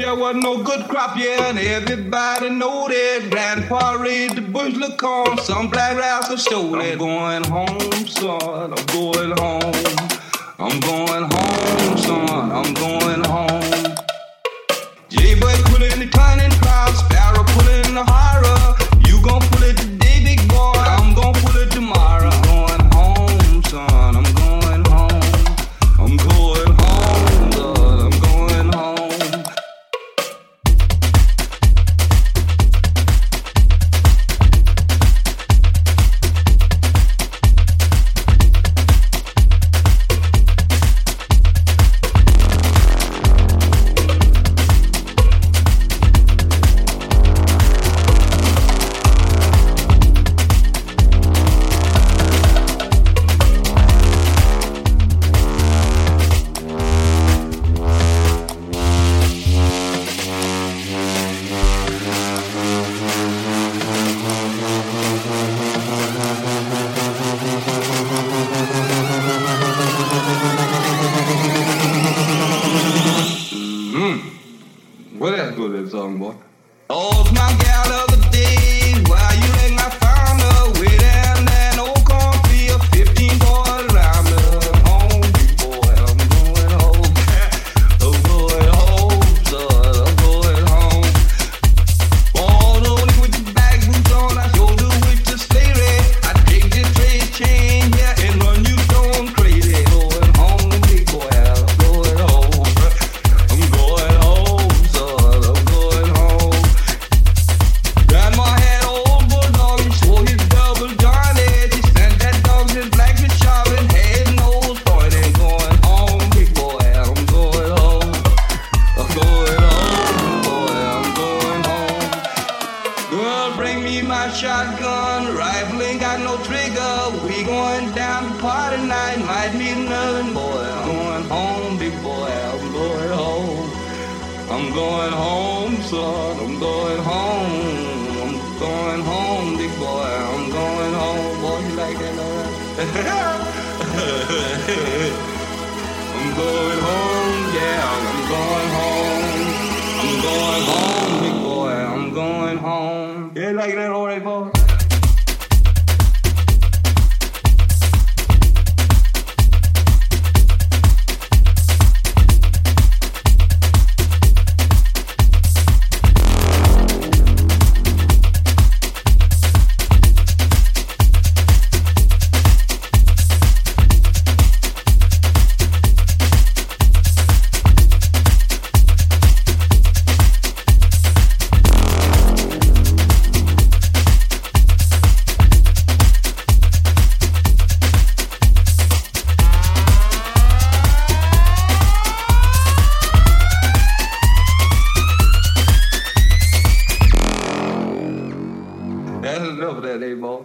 there wasn't no good crop, yeah, and everybody know that. Grandpa raised the bushel of corn, some black rascals stole it. I'm going home, son, I'm going home. I'm going home, son, I'm going home. J-Boy pulling the turning crowd, Sparrow pulling the horror. You gon' pull it today, big boy, I'm gon' pull it tomorrow. I'm going home, son, I'm going home. I'm going home, son, I'm going home. Well, that's good, that song, boy. Oh, it's my gal of the day. Why you think I found her way down that old cornfield? 15 boys around me. Home, big boy, I'm going home. I'm going home, son, I'm going home. Born only with the bag boots on, I shoulder with the sleigh red. I take this trade chain here and run you stone crazy. Going home, big boy, I'm going home. I'm going home. Grandma had old bulldog, he swore his double Johnny. She sent that dog in black with chopping, head, nose, pointing. Going home, big boy, I'm going home. I'm going home, boy, I'm going home. Girl, bring me my shotgun, rifle ain't got no trigger. We going down to party night, might meet another boy. I'm going home, big boy, I'm going home. I'm going home, son, I'm going home. I'm going home, big boy, I'm going home. Boy, you like that, alright? I'm going home, yeah, I'm going home. I'm going home, big boy, I'm going home. You like that, alright, boy? That's enough of that, boy.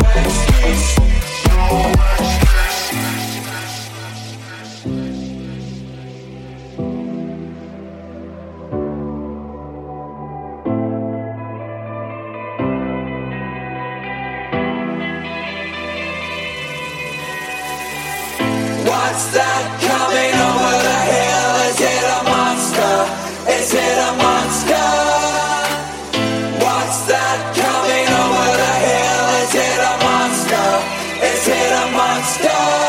What's that coming over the hill? Is it a monster? Is it a monster? What's that coming over the hill? Is it a monster? Is it a monster?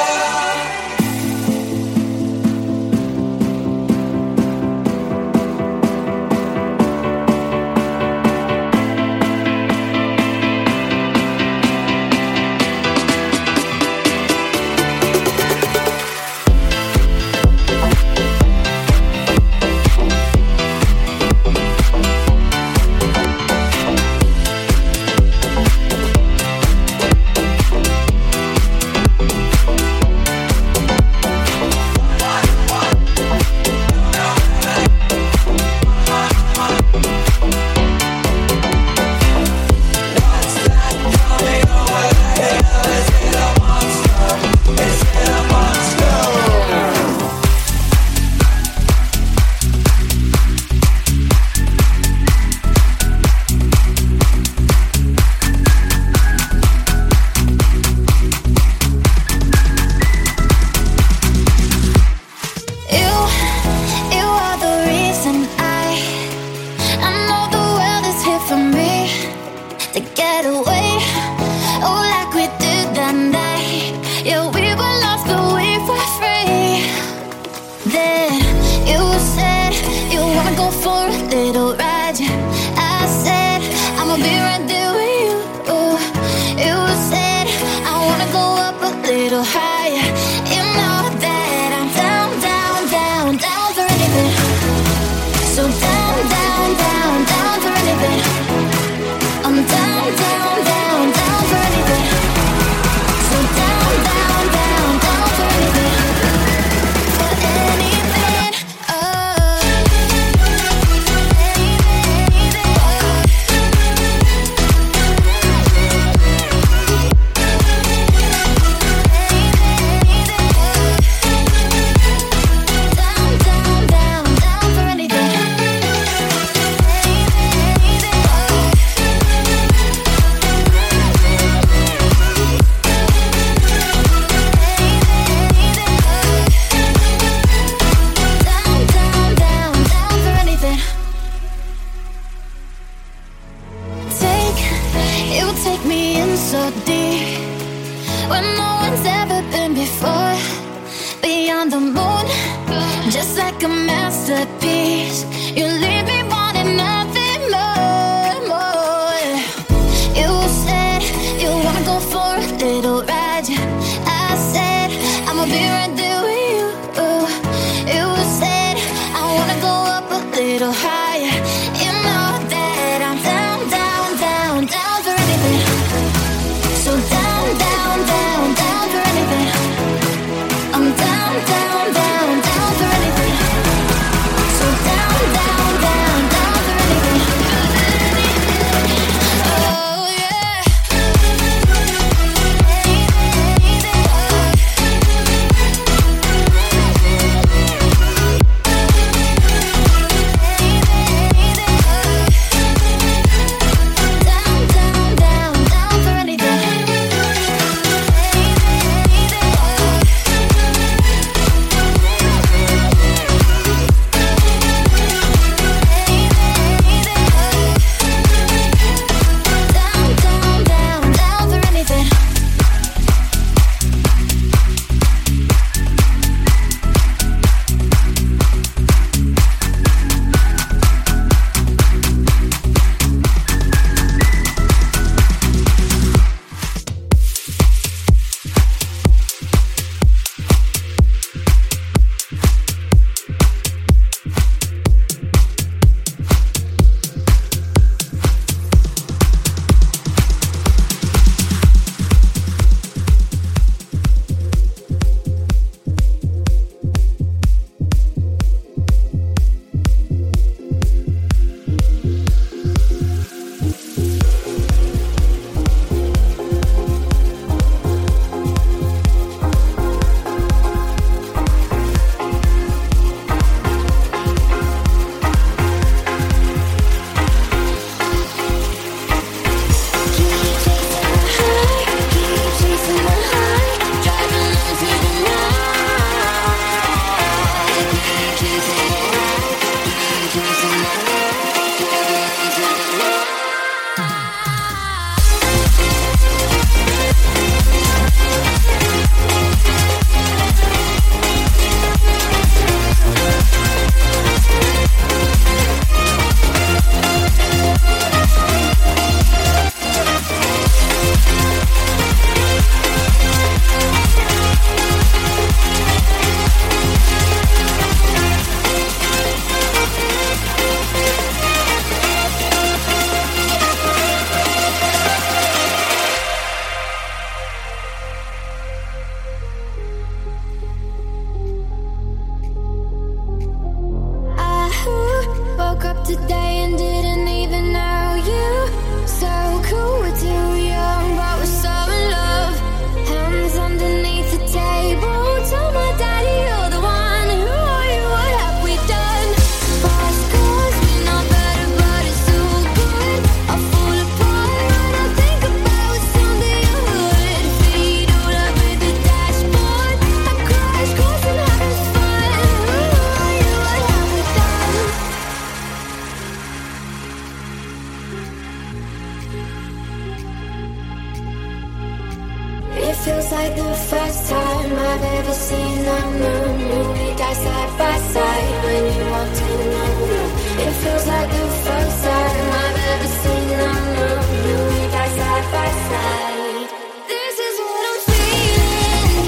feels like the first time I've ever seen the moon. We die side by side when you walked in the room. It feels like the first time I've ever seen the moon. We die side by side. This is what I'm feeling.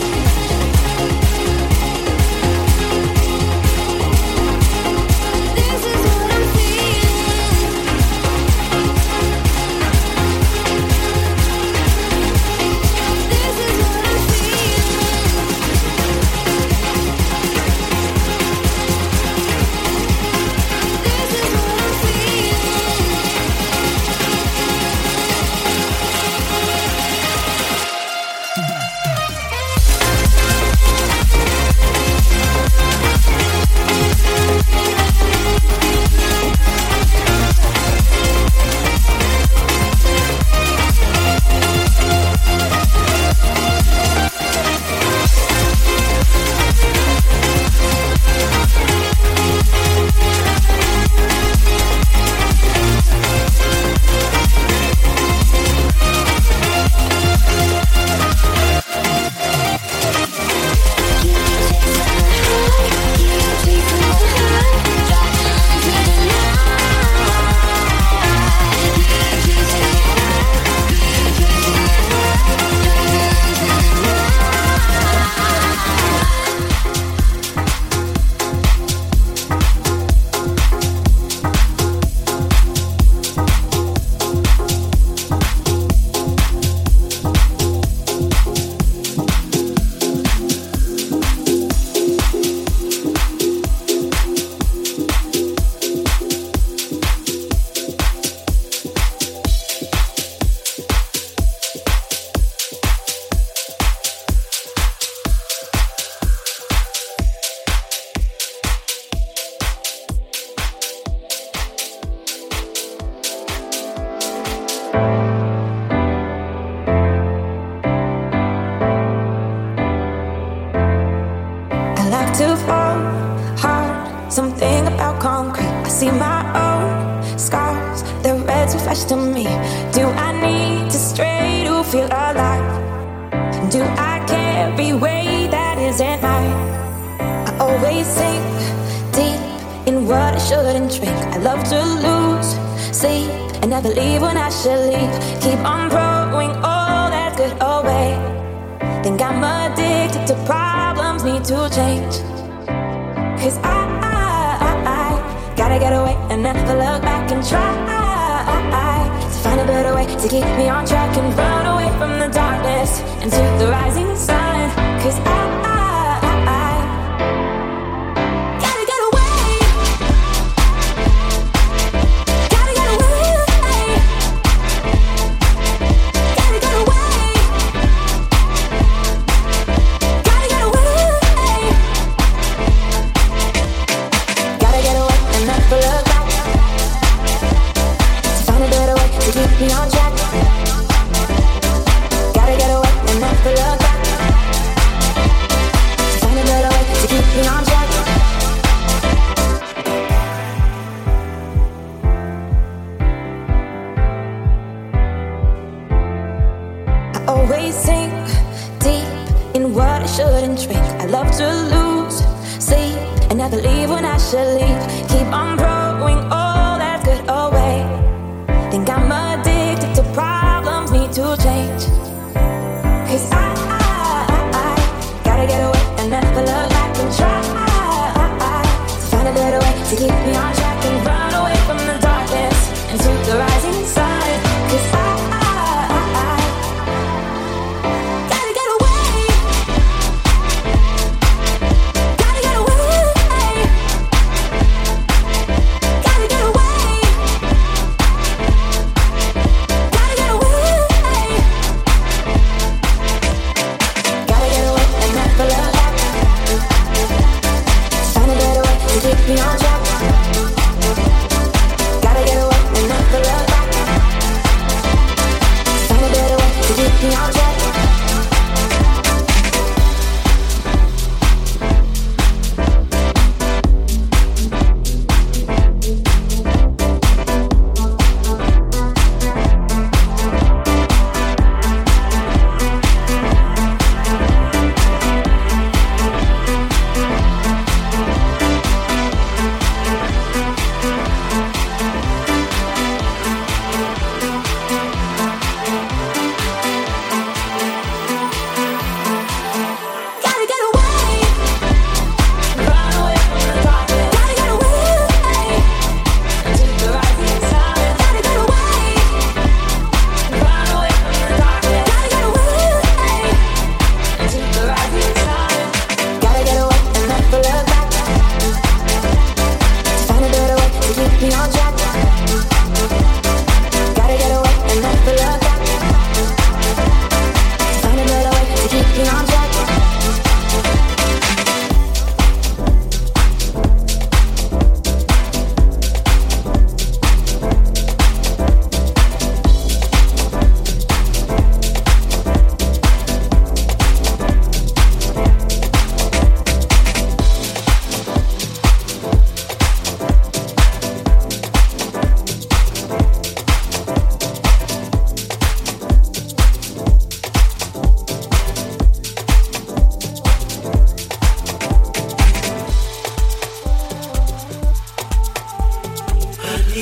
This is what I'm feeling. This is what I'm to fall hard. Something about concrete. I see my own scars. The reds refresh to me. Do I need to stray to feel alive? Do I carry weight that isn't mine? I always sink deep in what I shouldn't drink. I love to lose sleep and never leave when I should leave. Keep on throwing all that good away. Think I'm addicted to problems, need to change. Cause I gotta get away and never look back and try to find a better way to keep me on track and run away from the darkness into the rising sun. Cause I gotta get away. Gotta get away. Gotta get away. Gotta get away. Gotta get away and never look back to find a better way to keep me on track. Gotta get away and never look back to find a better way to keep me on track. I always sink deep in what I shouldn't drink. I love to lose sleep and never leave when I should leave. Keep on throwing all that good away. Think I'm addicted to problems, need to change. Cause I gotta get away and never look back and try to find a better way to keep me on track and run away from the darkness into the rising sun. Cause I gotta get away. Gotta get away. Gotta get away. Gotta get away. Gotta get away and never look back. Find a better way to keep me on track.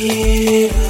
it